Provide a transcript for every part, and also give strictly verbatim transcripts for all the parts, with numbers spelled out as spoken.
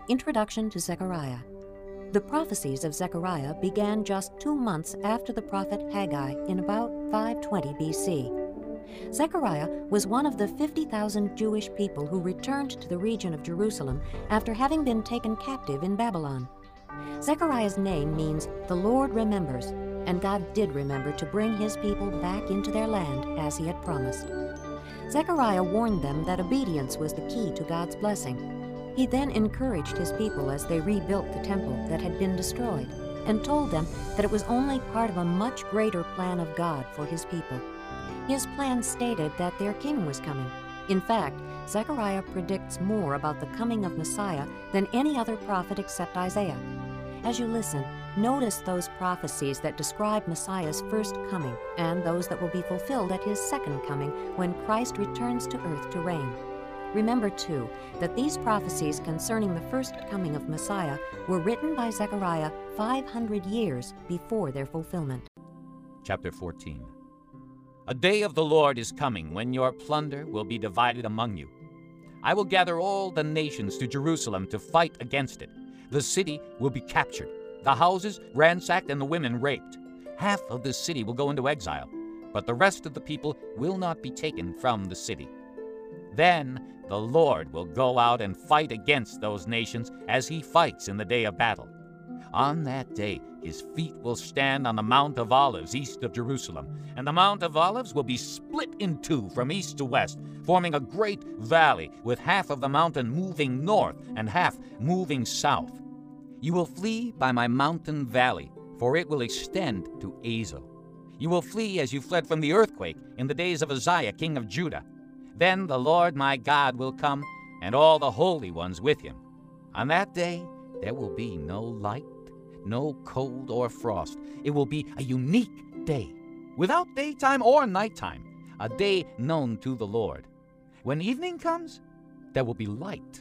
Introduction to Zechariah. The prophecies of Zechariah began just two months after the prophet Haggai in about five twenty B C. Zechariah was one of the fifty thousand Jewish people who returned to the region of Jerusalem after having been taken captive in Babylon. Zechariah's name means "the Lord remembers," and God did remember to bring his people back into their land as he had promised. Zechariah warned them that obedience was the key to God's blessing. He then encouraged his people as they rebuilt the temple that had been destroyed, and told them that it was only part of a much greater plan of God for his people. His plan stated that their king was coming. In fact, Zechariah predicts more about the coming of Messiah than any other prophet except Isaiah. As you listen, notice those prophecies that describe Messiah's first coming and those that will be fulfilled at his second coming when Christ returns to earth to reign. Remember, too, that these prophecies concerning the first coming of Messiah were written by Zechariah five hundred years before their fulfillment. Chapter fourteen. A day of the Lord is coming when your plunder will be divided among you. I will gather all the nations to Jerusalem to fight against it. The city will be captured, the houses ransacked, and the women raped. Half of the city will go into exile, but the rest of the people will not be taken from the city. Then the Lord will go out and fight against those nations as he fights in the day of battle. On that day, his feet will stand on the Mount of Olives east of Jerusalem, and the Mount of Olives will be split in two from east to west, forming a great valley with half of the mountain moving north and half moving south. You will flee by my mountain valley, for it will extend to Azel. You will flee as you fled from the earthquake in the days of Uzziah, king of Judah. Then the Lord my God will come, and all the holy ones with him. On that day there will be no light, no cold or frost. It will be a unique day, without daytime or nighttime, a day known to the Lord. When evening comes, there will be light.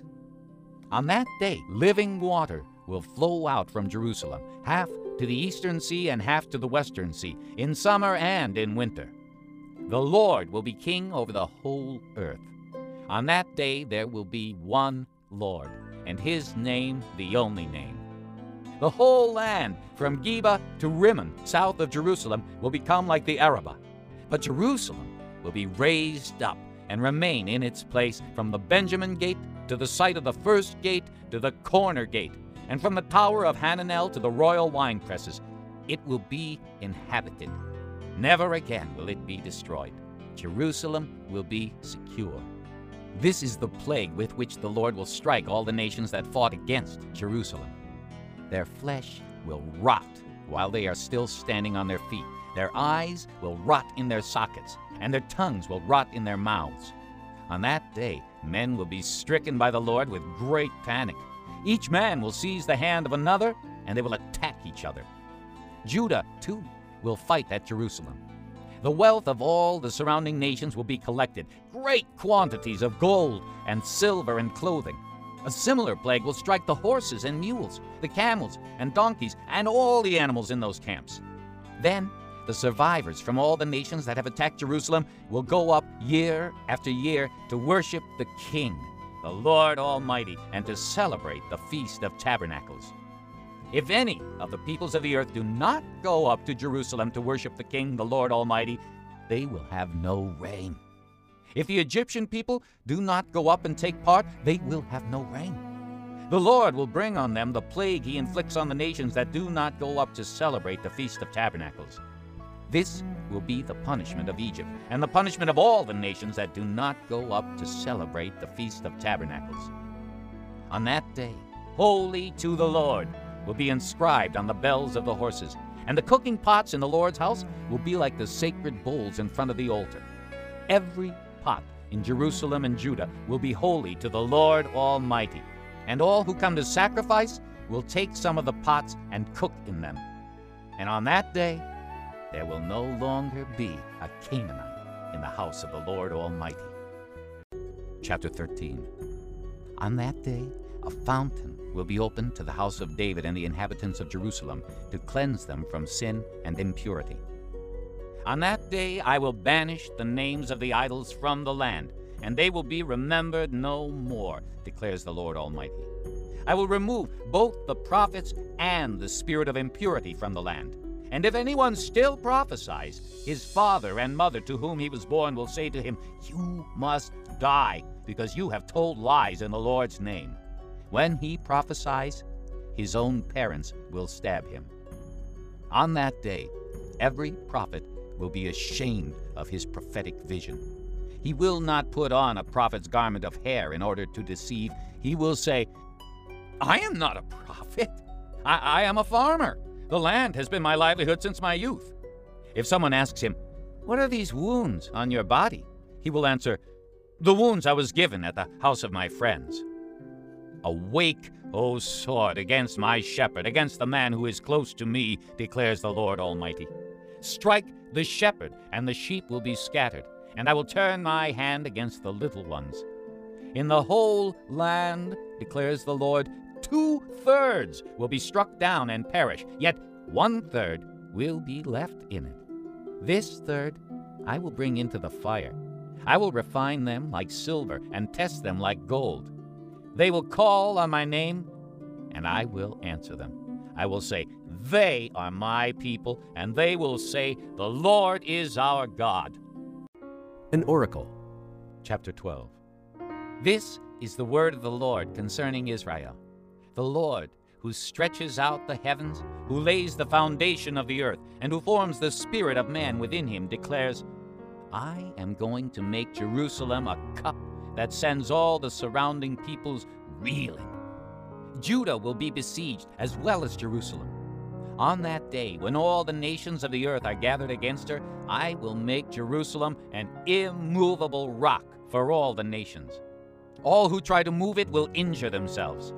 On that day living water will flow out from Jerusalem, half to the eastern sea and half to the western sea, in summer and in winter. The Lord will be king over the whole earth. On that day there will be one Lord, and his name the only name. The whole land, from Geba to Rimmon, south of Jerusalem, will become like the Arabah. But Jerusalem will be raised up and remain in its place from the Benjamin gate to the site of the first gate to the corner gate, and from the tower of Hananel to the royal wine presses. It will be inhabited. Never again will it be destroyed. Jerusalem will be secure. This is the plague with which the Lord will strike all the nations that fought against Jerusalem. Their flesh will rot while they are still standing on their feet. Their eyes will rot in their sockets, and their tongues will rot in their mouths. On that day, men will be stricken by the Lord with great panic. Each man will seize the hand of another, and they will attack each other. Judah, too, will fight at Jerusalem. The wealth of all the surrounding nations will be collected, great quantities of gold and silver and clothing. A similar plague will strike the horses and mules, the camels and donkeys, and all the animals in those camps. Then the survivors from all the nations that have attacked Jerusalem will go up year after year to worship the King, the Lord Almighty, and to celebrate the Feast of Tabernacles. If any of the peoples of the earth do not go up to Jerusalem to worship the King, the Lord Almighty, they will have no rain. If the Egyptian people do not go up and take part, they will have no rain. The Lord will bring on them the plague he inflicts on the nations that do not go up to celebrate the Feast of Tabernacles. This will be the punishment of Egypt, and the punishment of all the nations that do not go up to celebrate the Feast of Tabernacles. On that day, holy to the Lord will be inscribed on the bells of the horses, and the cooking pots in the Lord's house will be like the sacred bowls in front of the altar. Every pot in Jerusalem and Judah will be holy to the Lord Almighty, and all who come to sacrifice will take some of the pots and cook in them. And on that day there will no longer be a Canaanite in the house of the Lord Almighty. Chapter thirteen. On that day a fountain will be opened to the house of David and the inhabitants of Jerusalem to cleanse them from sin and impurity. On that day I will banish the names of the idols from the land, and they will be remembered no more, declares the Lord Almighty. I will remove both the prophets and the spirit of impurity from the land. And if anyone still prophesies, his father and mother to whom he was born will say to him, "You must die, because you have told lies in the Lord's name." When he prophesies, his own parents will stab him. On that day, every prophet will be ashamed of his prophetic vision. He will not put on a prophet's garment of hair in order to deceive. He will say, "I am not a prophet. I, I am a farmer. The land has been my livelihood since my youth." If someone asks him, "What are these wounds on your body?" he will answer, "The wounds I was given at the house of my friends." "Awake, O sword, against my shepherd, against the man who is close to me, declares the Lord Almighty. Strike the shepherd, and the sheep will be scattered, and I will turn my hand against the little ones. In the whole land, declares the Lord, two-thirds will be struck down and perish, yet one-third will be left in it. This third I will bring into the fire. I will refine them like silver and test them like gold. They will call on my name, and I will answer them. I will say, 'They are my people,' and they will say, 'The Lord is our God.'" An oracle. Chapter twelve. This is the word of the Lord concerning Israel. The Lord, who stretches out the heavens, who lays the foundation of the earth, and who forms the spirit of man within him, declares, "I am going to make Jerusalem a cup that sends all the surrounding peoples reeling. Judah will be besieged as well as Jerusalem. On that day, when all the nations of the earth are gathered against her, I will make Jerusalem an immovable rock for all the nations. All who try to move it will injure themselves.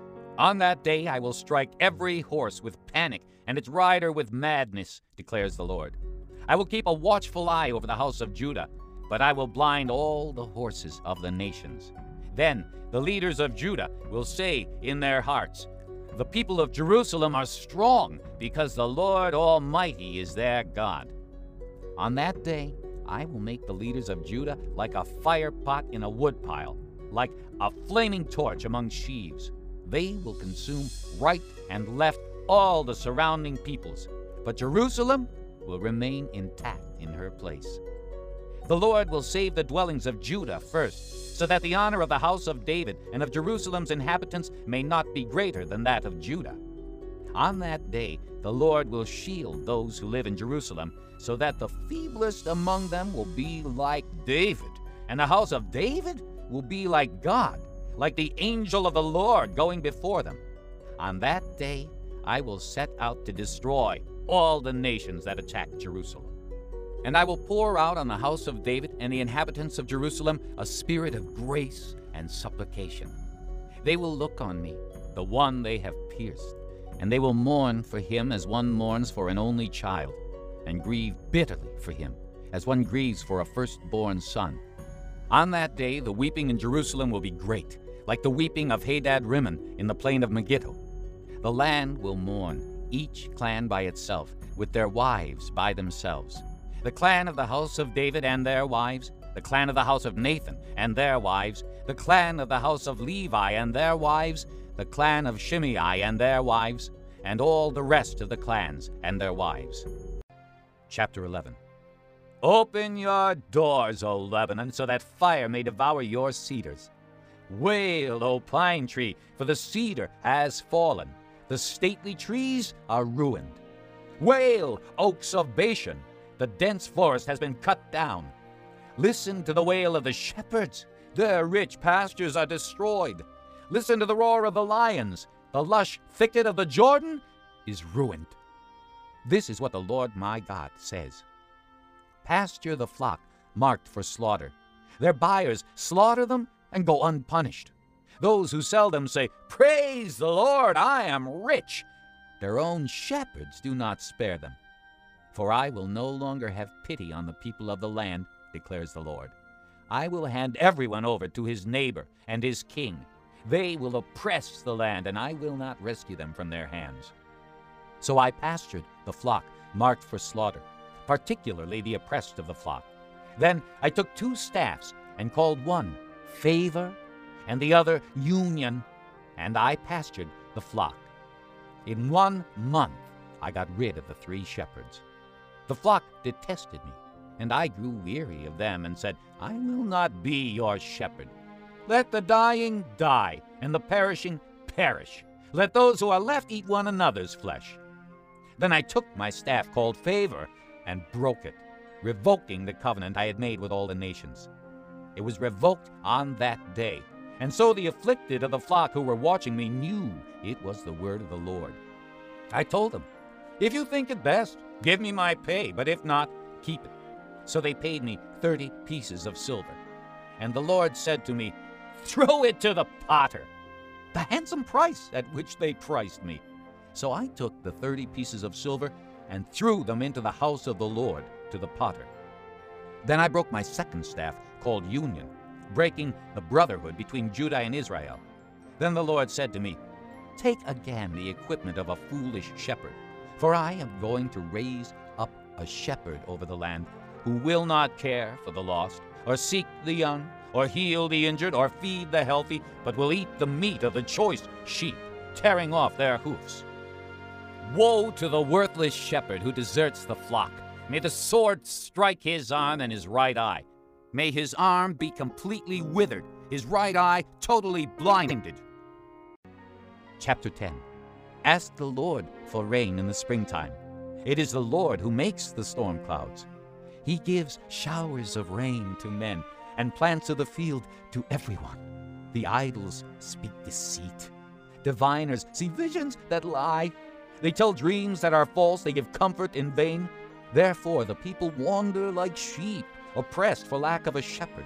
On that day I will strike every horse with panic and its rider with madness, declares the Lord. I will keep a watchful eye over the house of Judah, but I will blind all the horses of the nations. Then the leaders of Judah will say in their hearts, 'The people of Jerusalem are strong, because the Lord Almighty is their God.' On that day I will make the leaders of Judah like a fire pot in a woodpile, like a flaming torch among sheaves. They will consume right and left all the surrounding peoples, but Jerusalem will remain intact in her place. The Lord will save the dwellings of Judah first, so that the honor of the house of David and of Jerusalem's inhabitants may not be greater than that of Judah. On that day the Lord will shield those who live in Jerusalem, so that the feeblest among them will be like David, and the house of David will be like God, like the angel of the Lord going before them. On that day I will set out to destroy all the nations that attack Jerusalem. And I will pour out on the house of David and the inhabitants of Jerusalem a spirit of grace and supplication. They will look on me, the one they have pierced, and they will mourn for him as one mourns for an only child, and grieve bitterly for him, as one grieves for a firstborn son. On that day the weeping in Jerusalem will be great, like the weeping of Hadad-rimmon in the plain of Megiddo. The land will mourn, each clan by itself, with their wives by themselves. The clan of the house of David and their wives, the clan of the house of Nathan and their wives, the clan of the house of Levi and their wives, the clan of Shimei and their wives, and all the rest of the clans and their wives. Chapter eleven. Open your doors, O Lebanon, so that fire may devour your cedars. Wail, O pine tree, for the cedar has fallen. The stately trees are ruined. Wail, oaks of Bashan, the dense forest has been cut down. Listen to the wail of the shepherds. Their rich pastures are destroyed. Listen to the roar of the lions. The lush thicket of the Jordan is ruined. This is what the Lord my God says. Pasture the flock marked for slaughter. Their buyers slaughter them and go unpunished. Those who sell them say, "Praise the Lord, I am rich." Their own shepherds do not spare them. For I will no longer have pity on the people of the land, declares the Lord. I will hand everyone over to his neighbor and his king. They will oppress the land, and I will not rescue them from their hands. So I pastured the flock marked for slaughter, particularly the oppressed of the flock. Then I took two staffs and called one Favor and the other Union. and I pastured the flock. In one month I got rid of the three shepherds. The flock detested me, and I grew weary of them and said, I will not be your shepherd. Let the dying die, and the perishing perish. Let those who are left eat one another's flesh. Then I took my staff called Favor and broke it, revoking the covenant I had made with all the nations. It was revoked on that day, and so the afflicted of the flock who were watching me knew it was the word of the Lord. I told them, if you think it best, give me my pay, but if not, keep it. So they paid me thirty pieces of silver. And the Lord said to me, throw it to the potter, the handsome price at which they priced me. So I took the thirty pieces of silver and threw them into the house of the Lord to the potter. Then I broke my second staff, called Union, breaking the brotherhood between Judah and Israel. Then the Lord said to me, take again the equipment of a foolish shepherd, for I am going to raise up a shepherd over the land who will not care for the lost, or seek the young, or heal the injured, or feed the healthy, but will eat the meat of the choice sheep, tearing off their hoofs. Woe to the worthless shepherd who deserts the flock. May the sword strike his arm and his right eye. May his arm be completely withered, his right eye totally blinded. Chapter ten. Ask the Lord for rain in the springtime. It is the Lord who makes the storm clouds. He gives showers of rain to men, and plants of the field to everyone. The idols speak deceit. Diviners see visions that lie. They tell dreams that are false. They give comfort in vain. Therefore the people wander like sheep, oppressed for lack of a shepherd.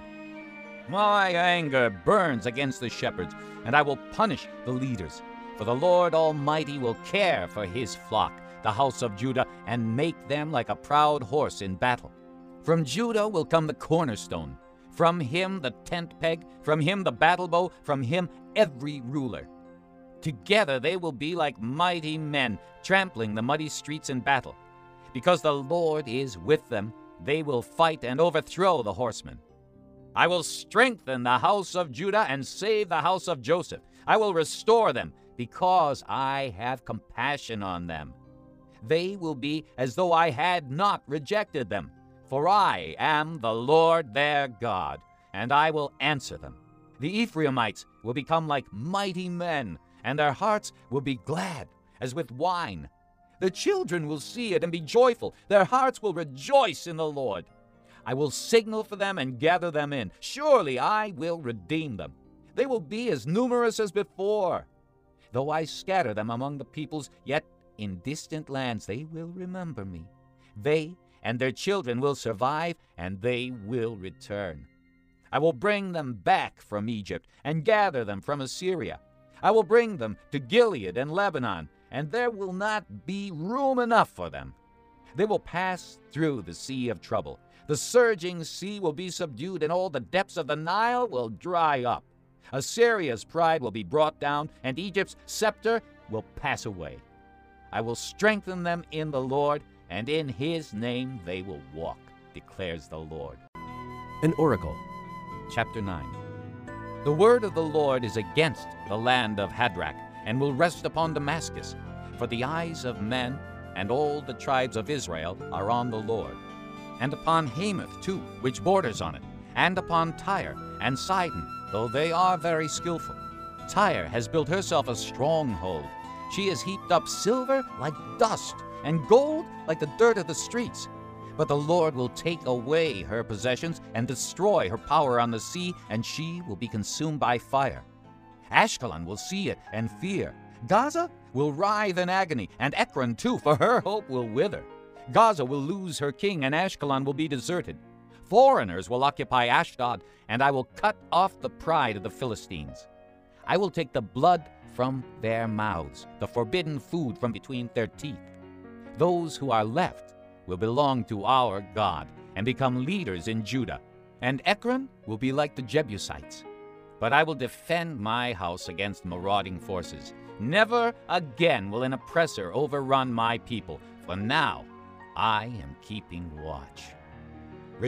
My anger burns against the shepherds, and I will punish the leaders. For the Lord Almighty will care for his flock, the house of Judah, and make them like a proud horse in battle. From Judah will come the cornerstone, from him the tent peg, from him the battle bow, from him every ruler. Together they will be like mighty men, trampling the muddy streets in battle. Because the Lord is with them, they will fight and overthrow the horsemen. I will strengthen the house of Judah and save the house of Joseph. I will restore them, because I have compassion on them. They will be as though I had not rejected them. For I am the Lord their God, and I will answer them. The Ephraimites will become like mighty men, and their hearts will be glad as with wine. The children will see it and be joyful. Their hearts will rejoice in the Lord. I will signal for them and gather them in. Surely I will redeem them. They will be as numerous as before. Though I scatter them among the peoples, yet in distant lands they will remember me. They and their children will survive, and they will return. I will bring them back from Egypt and gather them from Assyria. I will bring them to Gilead and Lebanon, and there will not be room enough for them. They will pass through the sea of trouble. The surging sea will be subdued, and all the depths of the Nile will dry up. Assyria's pride will be brought down, and Egypt's scepter will pass away. I will strengthen them in the Lord, and in his name they will walk, declares the Lord. An oracle. Chapter nine. The word of the Lord is against the land of Hadrach, and will rest upon Damascus. For the eyes of men and all the tribes of Israel are on the Lord. And upon Hamath too, which borders on it, and upon Tyre and Sidon, though they are very skillful. Tyre has built herself a stronghold. She has heaped up silver like dust, and gold like the dirt of the streets. But the Lord will take away her possessions and destroy her power on the sea, and she will be consumed by fire. Ashkelon will see it and fear. Gaza will writhe in agony, and Ekron too, for her hope will wither. Gaza will lose her king, and Ashkelon will be deserted. Foreigners will occupy Ashdod, and I will cut off the pride of the Philistines. I will take the blood from their mouths, the forbidden food from between their teeth. Those who are left will belong to our God and become leaders in Judah, and Ekron will be like the Jebusites. But I will defend my house against marauding forces. Never again will an oppressor overrun my people, for now I am keeping watch.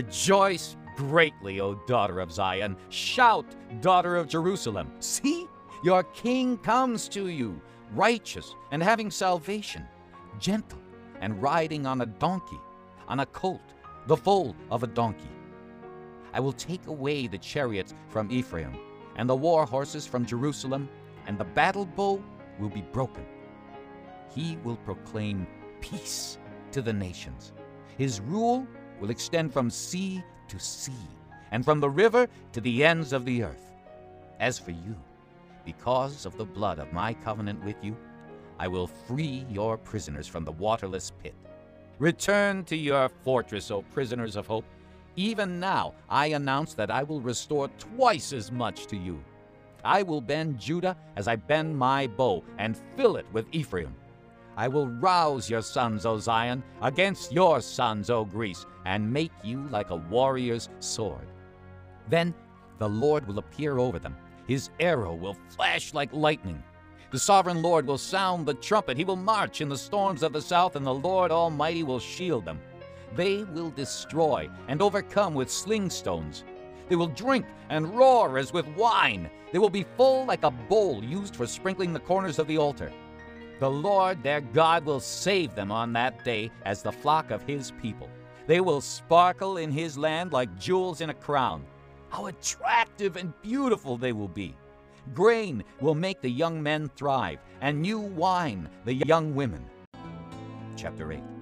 Rejoice greatly, O daughter of Zion. Shout, daughter of Jerusalem. See, Your king comes to you, righteous and having salvation, gentle and riding on a donkey, on a colt, the foal of a donkey. I will take away the chariots from Ephraim, and the war horses from Jerusalem, and the battle bow will be broken. He will proclaim peace to the nations. His rule will extend from sea to sea, and from the river to the ends of the earth. As for you, because of the blood of my covenant with you, I will free your prisoners from the waterless pit. Return to your fortress, O prisoners of hope. Even now I announce that I will restore twice as much to you. I will bend Judah as I bend my bow, and fill it with Ephraim. I will rouse your sons, O Zion, against your sons, O Greece, and make you like a warrior's sword. Then the Lord will appear over them. His arrow will flash like lightning. The sovereign Lord will sound the trumpet. He will march in the storms of the south, and the Lord Almighty will shield them. They will destroy and overcome with sling stones. They will drink and roar as with wine. They will be full like a bowl used for sprinkling the corners of the altar. The Lord their God will save them on that day as the flock of his people. They will sparkle in his land like jewels in a crown. How attractive and beautiful they will be. Grain will make the young men thrive, and new wine the young women. Chapter eight.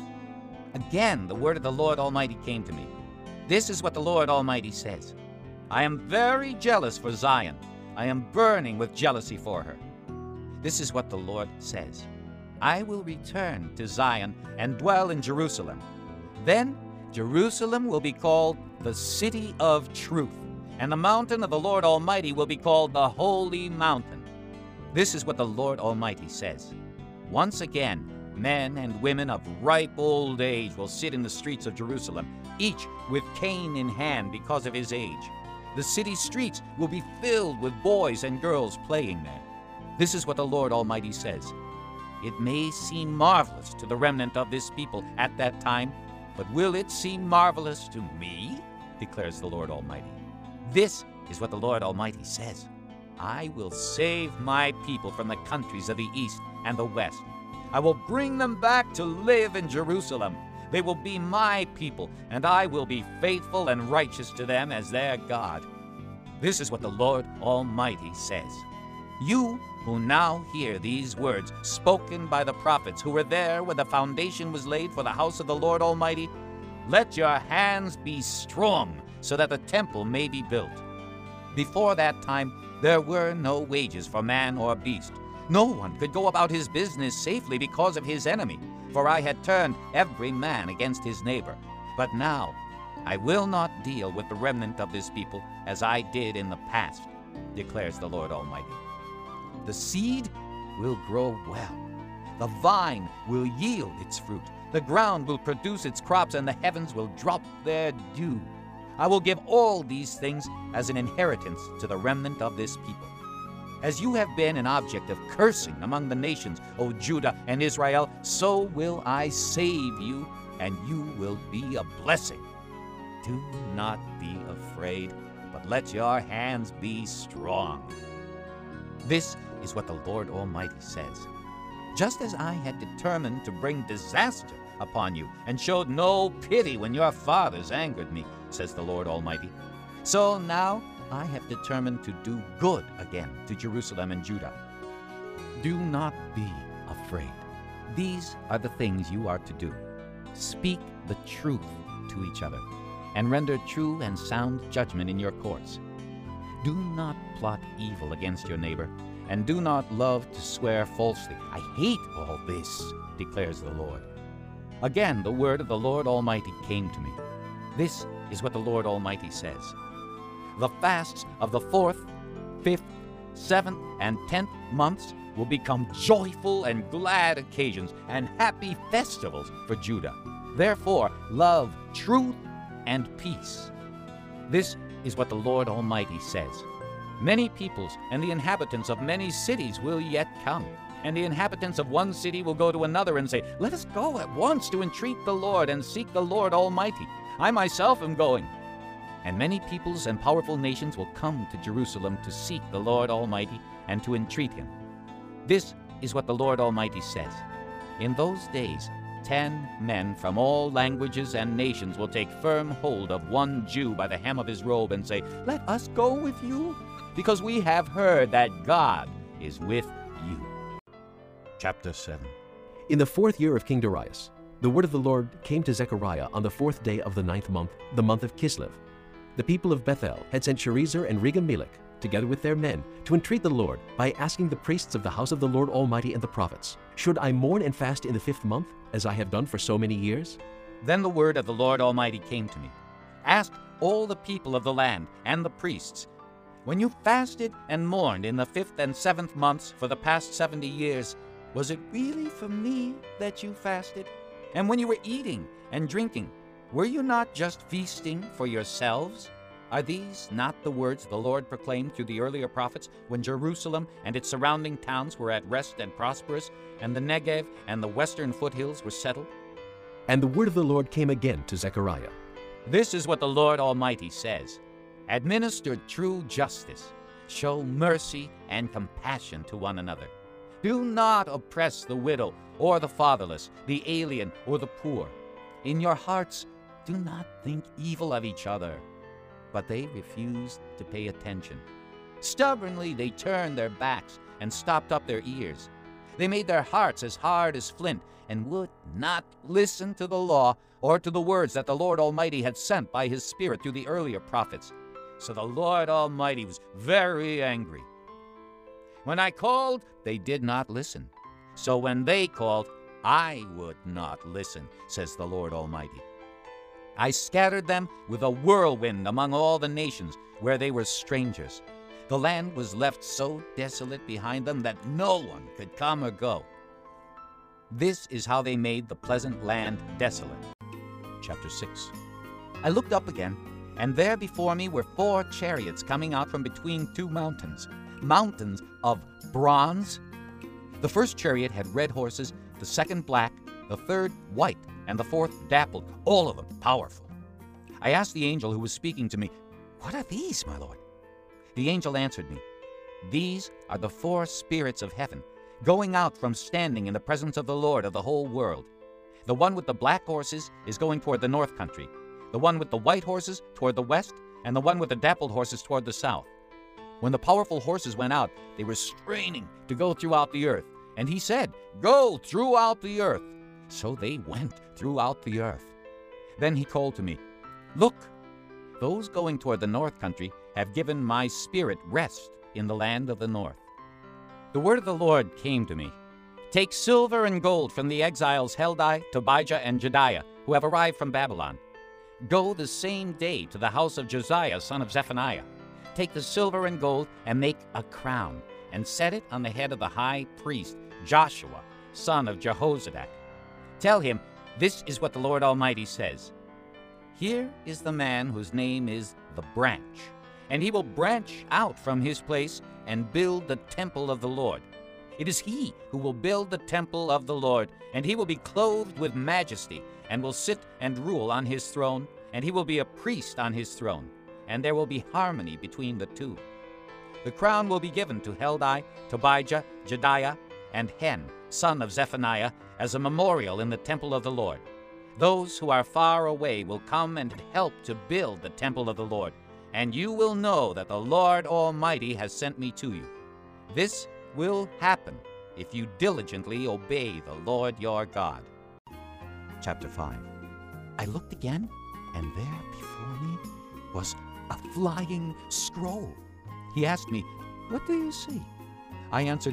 Again, the word of the Lord Almighty came to me. This is what the Lord Almighty says. I am very jealous for Zion. I am burning with jealousy for her. This is what the Lord says. I will return to Zion and dwell in Jerusalem. Then Jerusalem will be called the city of truth, and the mountain of the Lord Almighty will be called the holy mountain. This is what the Lord Almighty says. Once again, men and women of ripe old age will sit in the streets of Jerusalem, each with cane in hand because of his age. The city streets will be filled with boys and girls playing there. This is what the Lord Almighty says. It may seem marvelous to the remnant of this people at that time, but will it seem marvelous to me? Declares the Lord Almighty. This is what the Lord Almighty says. I will save my people from the countries of the east and the west. I will bring them back to live in Jerusalem. They will be my people, and I will be faithful and righteous to them as their God. This is what the Lord Almighty says. You who now hear these words spoken by the prophets who were there when the foundation was laid for the house of the Lord Almighty, let your hands be strong so that the temple may be built. Before that time, there were no wages for man or beast. No one could go about his business safely because of his enemy, for I had turned every man against his neighbor. But now I will not deal with the remnant of this people as I did in the past, declares the Lord Almighty. The seed will grow well. The vine will yield its fruit. The ground will produce its crops, and the heavens will drop their dew. I will give all these things as an inheritance to the remnant of this people. As you have been an object of cursing among the nations, O Judah and Israel, so will I save you, and you will be a blessing. Do not be afraid, but let your hands be strong. This is what the Lord Almighty says. Just as I had determined to bring disaster upon you, and showed no pity when your fathers angered me, says the Lord Almighty, so now I have determined to do good again to Jerusalem and Judah. Do not be afraid. These are the things you are to do. Speak the truth to each other, and render true and sound judgment in your courts. Do not plot evil against your neighbor, and do not love to swear falsely. I hate all this, declares the Lord. Again, the word of the Lord Almighty came to me. This is what the Lord Almighty says. The fasts of the fourth, fifth, seventh, and tenth months will become joyful and glad occasions and happy festivals for Judah. Therefore, love truth and peace. This is what the Lord Almighty says. Many peoples and the inhabitants of many cities will yet come, and the inhabitants of one city will go to another and say, let us go at once to entreat the Lord and seek the Lord Almighty. I myself am going. And many peoples and powerful nations will come to Jerusalem to seek the Lord Almighty and to entreat him. This is what the Lord Almighty says. In those days, ten men from all languages and nations will take firm hold of one Jew by the hem of his robe and say, "Let us go with you, because we have heard that God is with you." Chapter seven. In the fourth year of King Darius, the word of the Lord came to Zechariah on the fourth day of the ninth month, the month of Kislev. The people of Bethel had sent Sherezer and Regem-Melech, together with their men, to entreat the Lord by asking the priests of the house of the Lord Almighty and the prophets, "Should I mourn and fast in the fifth month, as I have done for so many years?" Then the word of the Lord Almighty came to me. Ask all the people of the land and the priests, when you fasted and mourned in the fifth and seventh months for the past seventy years, was it really for me that you fasted? And when you were eating and drinking, were you not just feasting for yourselves? Are these not the words the Lord proclaimed through the earlier prophets when Jerusalem and its surrounding towns were at rest and prosperous, and the Negev and the western foothills were settled? And the word of the Lord came again to Zechariah. This is what the Lord Almighty says. Administer true justice. Show mercy and compassion to one another. Do not oppress the widow or the fatherless, the alien or the poor. In your hearts, do not think evil of each other. But they refused to pay attention. Stubbornly they turned their backs and stopped up their ears. They made their hearts as hard as flint and would not listen to the law or to the words that the Lord Almighty had sent by his Spirit through the earlier prophets. So the Lord Almighty was very angry. When I called, they did not listen. So when they called, I would not listen, says the Lord Almighty. I scattered them with a whirlwind among all the nations where they were strangers. The land was left so desolate behind them that no one could come or go. This is how they made the pleasant land desolate. Chapter six. I looked up again, and there before me were four chariots coming out from between two mountains, mountains of bronze. The first chariot had red horses, the second black, the third white, and the fourth dappled, all of them powerful. I asked the angel who was speaking to me, "What are these, my lord?" The angel answered me, "These are the four spirits of heaven, going out from standing in the presence of the Lord of the whole world. The one with the black horses is going toward the north country, the one with the white horses toward the west, and the one with the dappled horses toward the south." When the powerful horses went out, they were straining to go throughout the earth. And he said, "Go throughout the earth." So they went throughout the earth. Then he called to me, "Look, those going toward the north country have given my spirit rest in the land of the north." The word of the Lord came to me. "Take silver and gold from the exiles Heldai, Tobijah, and Jedaiah, who have arrived from Babylon. Go the same day to the house of Josiah, son of Zephaniah. Take the silver and gold and make a crown, and set it on the head of the high priest, Joshua, son of Jehozadak. Tell him, this is what the Lord Almighty says. Here is the man whose name is the Branch, and he will branch out from his place and build the temple of the Lord. It is he who will build the temple of the Lord, and he will be clothed with majesty, and will sit and rule on his throne, and he will be a priest on his throne, and there will be harmony between the two. The crown will be given to Heldai, Tobijah, Jedaiah, and Hen, son of Zephaniah, as a memorial in the temple of the Lord. Those who are far away will come and help to build the temple of the Lord, and you will know that the Lord Almighty has sent me to you. This will happen if you diligently obey the Lord your God." Chapter five. I looked again, and there before me was a flying scroll. He asked me, "What do you see?" I answered,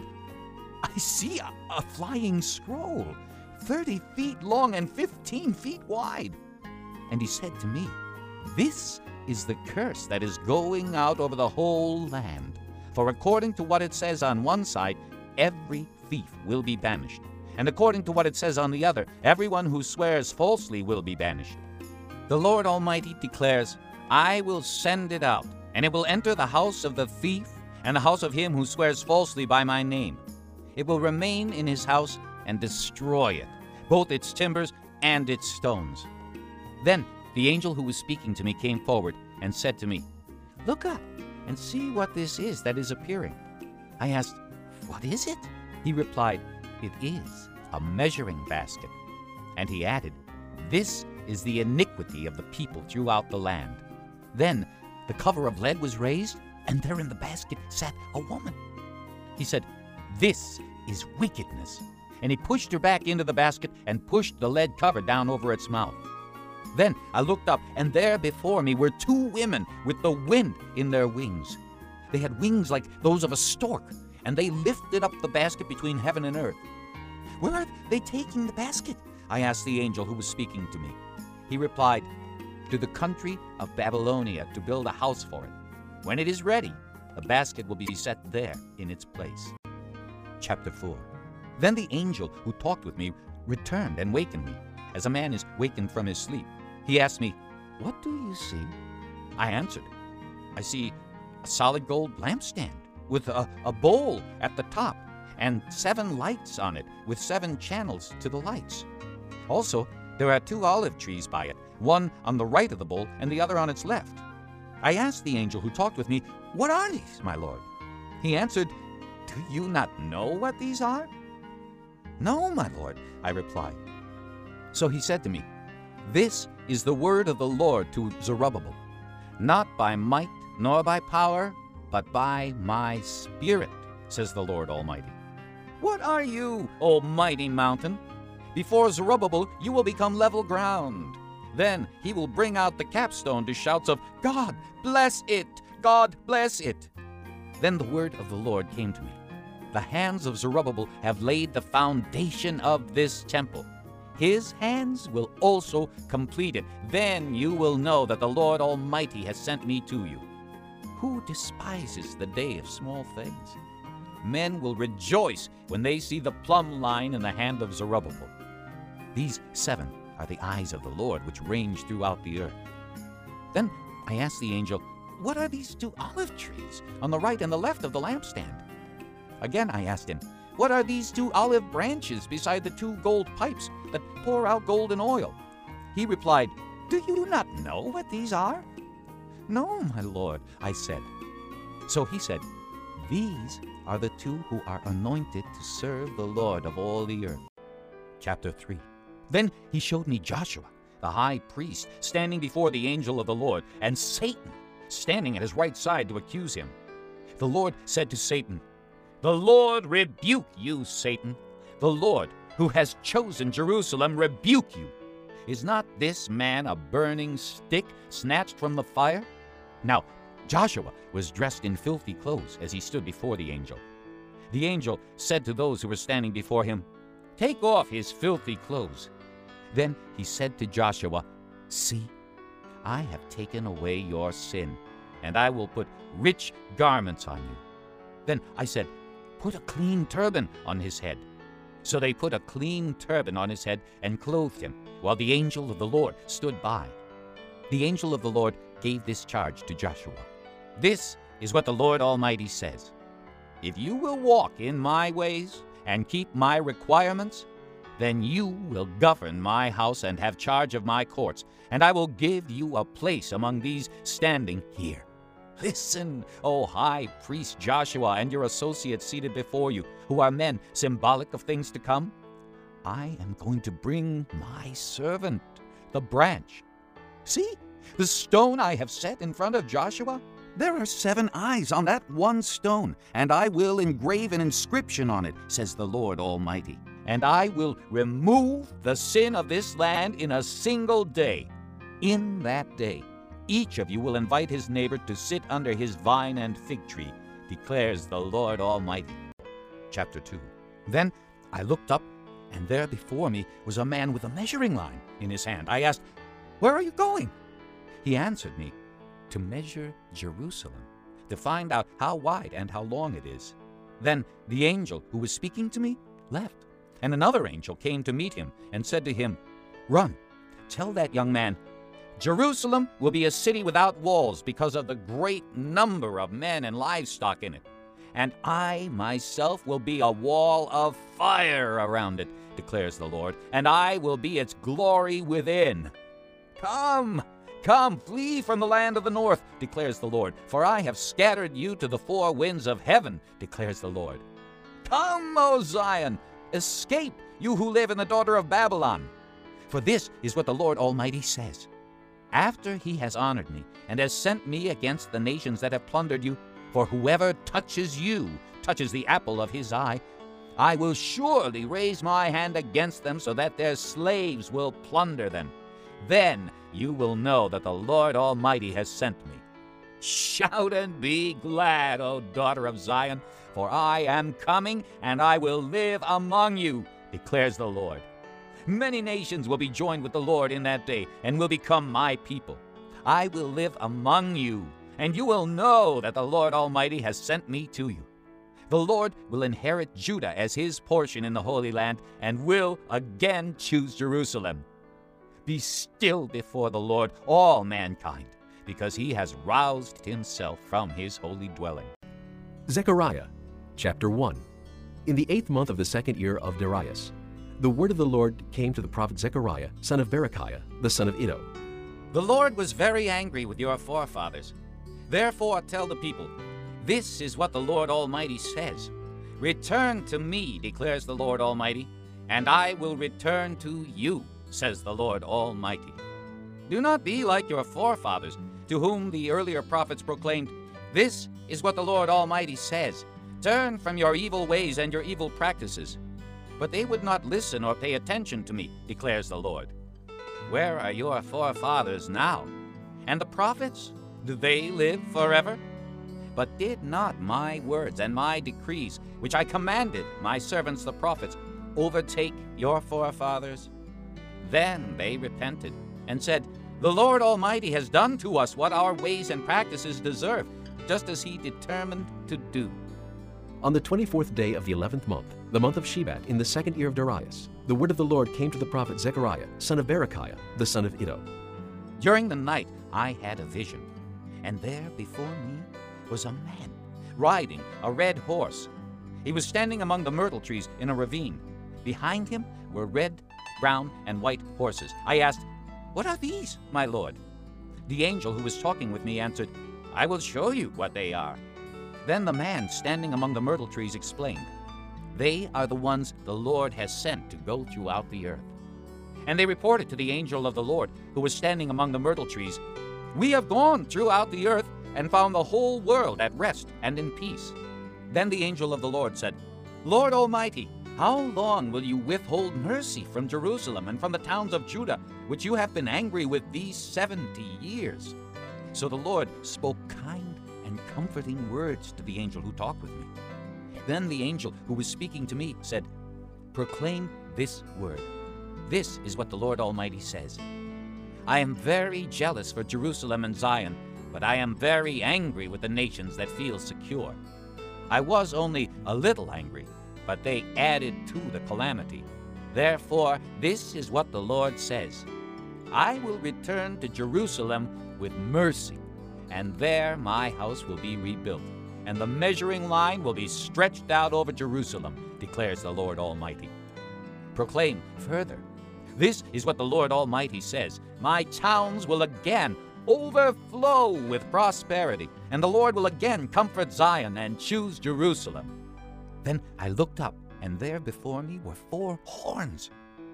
"I see a, a flying scroll, thirty feet long and fifteen feet wide." And he said to me, "This is the curse that is going out over the whole land. For according to what it says on one side, every thief will be banished. And according to what it says on the other, everyone who swears falsely will be banished. The Lord Almighty declares, I will send it out, and it will enter the house of the thief and the house of him who swears falsely by my name. It will remain in his house and destroy it, both its timbers and its stones." Then the angel who was speaking to me came forward, and said to me, "Look up and see what this is that is appearing." I asked, "What is it?" He replied, "It is a measuring basket." And he added, "This is the iniquity of the people throughout the land." Then the cover of lead was raised, and there in the basket sat a woman. He said, "This is wickedness." And he pushed her back into the basket and pushed the lead cover down over its mouth. Then I looked up, and there before me were two women with the wind in their wings. They had wings like those of a stork, and they lifted up the basket between heaven and earth. "Where are they taking the basket?" I asked the angel who was speaking to me. He replied, "To the country of Babylonia to build a house for it. When it is ready, the basket will be set there in its place." Chapter four. Then the angel who talked with me returned and wakened me, as a man is wakened from his sleep. He asked me, "What do you see?" I answered, "I see a solid gold lampstand with a, a bowl at the top and seven lights on it with seven channels to the lights. Also, there are two olive trees by it, one on the right of the bowl and the other on its left." I asked the angel who talked with me, "What are these, my lord?" He answered, "Do you not know what these are?" "No, my lord," I replied. So he said to me, "This is the word of the Lord to Zerubbabel. Not by might nor by power, but by my Spirit, says the Lord Almighty. What are you, O mighty mountain? Before Zerubbabel you will become level ground. Then he will bring out the capstone to shouts of, 'God bless it! God bless it!'" Then the word of the Lord came to me. "The hands of Zerubbabel have laid the foundation of this temple. His hands will also complete it. Then you will know that the Lord Almighty has sent me to you. Who despises the day of small things? Men will rejoice when they see the plumb line in the hand of Zerubbabel. These seven are the eyes of the Lord which range throughout the earth." Then I asked the angel, "What are these two olive trees on the right and the left of the lampstand?" Again I asked him, "What are these two olive branches beside the two gold pipes that pour out golden oil?" He replied, "Do you not know what these are?" "No, my lord," I said. So he said, "These are the two who are anointed to serve the Lord of all the earth." Chapter three. Then he showed me Joshua, the high priest, standing before the angel of the Lord, and Satan standing at his right side to accuse him. The Lord said to Satan, "The Lord rebuke you, Satan. The Lord, who has chosen Jerusalem, rebuke you. Is not this man a burning stick snatched from the fire?" Now Joshua was dressed in filthy clothes as he stood before the angel. The angel said to those who were standing before him, "Take off his filthy clothes." Then he said to Joshua, "See, I have taken away your sin, and I will put rich garments on you." Then I said, "Put a clean turban on his head." So they put a clean turban on his head and clothed him, while the angel of the Lord stood by. The angel of the Lord gave this charge to Joshua. "This is what the Lord Almighty says. If you will walk in my ways and keep my requirements, then you will govern my house and have charge of my courts, and I will give you a place among these standing here. Listen, O high priest Joshua, and your associates seated before you, who are men symbolic of things to come. I am going to bring my servant, the branch. See, the stone I have set in front of Joshua? There are seven eyes on that one stone, and I will engrave an inscription on it, says the Lord Almighty. And I will remove the sin of this land in a single day. In that day, each of you will invite his neighbor to sit under his vine and fig tree, declares the Lord Almighty." Chapter two. Then I looked up, and there before me was a man with a measuring line in his hand. I asked, "Where are you going?" He answered me, "To measure Jerusalem, to find out how wide and how long it is." Then the angel who was speaking to me left, and another angel came to meet him and said to him, "Run, tell that young man, Jerusalem will be a city without walls because of the great number of men and livestock in it. And I myself will be a wall of fire around it, declares the Lord, and I will be its glory within. Come, Come, flee from the land of the north, declares the Lord, for I have scattered you to the four winds of heaven, declares the Lord. Come, O Zion, escape, you who live in the daughter of Babylon. For this is what the Lord Almighty says. After he has honored me and has sent me against the nations that have plundered you, for whoever touches you touches the apple of his eye, I will surely raise my hand against them so that their slaves will plunder them. Then you will know that the Lord Almighty has sent me. Shout and be glad, O daughter of Zion, for I am coming, and I will live among you, declares the Lord. Many nations will be joined with the Lord in that day, and will become my people. I will live among you, and you will know that the Lord Almighty has sent me to you. The Lord will inherit Judah as his portion in the Holy Land, and will again choose Jerusalem. Be still before the Lord, all mankind, because he has roused himself from his holy dwelling. Zechariah, chapter one. In the eighth month of the second year of Darius, the word of the Lord came to the prophet Zechariah, son of Berechiah, the son of Iddo. The Lord was very angry with your forefathers. Therefore tell the people, this is what the Lord Almighty says. Return to me, declares the Lord Almighty, and I will return to you, says the Lord Almighty. Do not be like your forefathers, to whom the earlier prophets proclaimed, this is what the Lord Almighty says. Turn from your evil ways and your evil practices. But they would not listen or pay attention to me, declares the Lord. Where are your forefathers now? And the prophets? Do they live forever? But did not my words and my decrees, which I commanded my servants the prophets, overtake your forefathers? Then they repented and said, the Lord Almighty has done to us what our ways and practices deserve, just as he determined to do. On the twenty-fourth day of the eleventh month, the month of Shebat, in the second year of Darius, the word of the Lord came to the prophet Zechariah, son of Berechiah, the son of Iddo. During the night I had a vision, and there before me was a man riding a red horse. He was standing among the myrtle trees in a ravine. Behind him were red, brown, and white horses. I asked, what are these, my lord? The angel who was talking with me answered, I will show you what they are. Then the man standing among the myrtle trees explained, they are the ones the Lord has sent to go throughout the earth. And they reported to the angel of the Lord, who was standing among the myrtle trees, we have gone throughout the earth and found the whole world at rest and in peace. Then the angel of the Lord said, Lord Almighty, how long will you withhold mercy from Jerusalem and from the towns of Judah, which you have been angry with these seventy years? So the Lord spoke kind and comforting words to the angel who talked with me. Then the angel who was speaking to me said, proclaim this word. This is what the Lord Almighty says. I am very jealous for Jerusalem and Zion, but I am very angry with the nations that feel secure. I was only a little angry, but they added to the calamity. Therefore, this is what the Lord says. I will return to Jerusalem with mercy, and there my house will be rebuilt, and the measuring line will be stretched out over Jerusalem, declares the Lord Almighty. Proclaim further, this is what the Lord Almighty says. My towns will again overflow with prosperity, and the Lord will again comfort Zion and choose Jerusalem. Then I looked up, and there before me were four horns.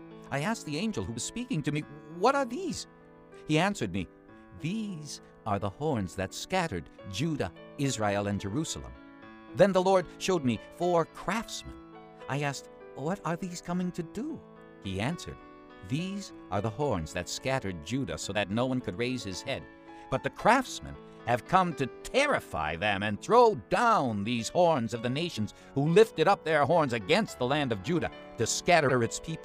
I asked the angel who was speaking to me, what are these? He answered me, these are the horns that scattered Judah, Israel, and Jerusalem. Then the Lord showed me four craftsmen. I asked, what are these coming to do? He answered, these are the horns that scattered Judah so that no one could raise his head. But the craftsmen have come to terrify them and throw down these horns of the nations who lifted up their horns against the land of Judah to scatter its people.